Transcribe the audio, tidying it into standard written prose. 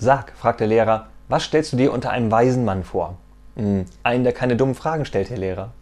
Sag, fragt der Lehrer, was stellst du dir unter einem weisen Mann vor? Einen, der keine dummen Fragen stellt, Herr Lehrer.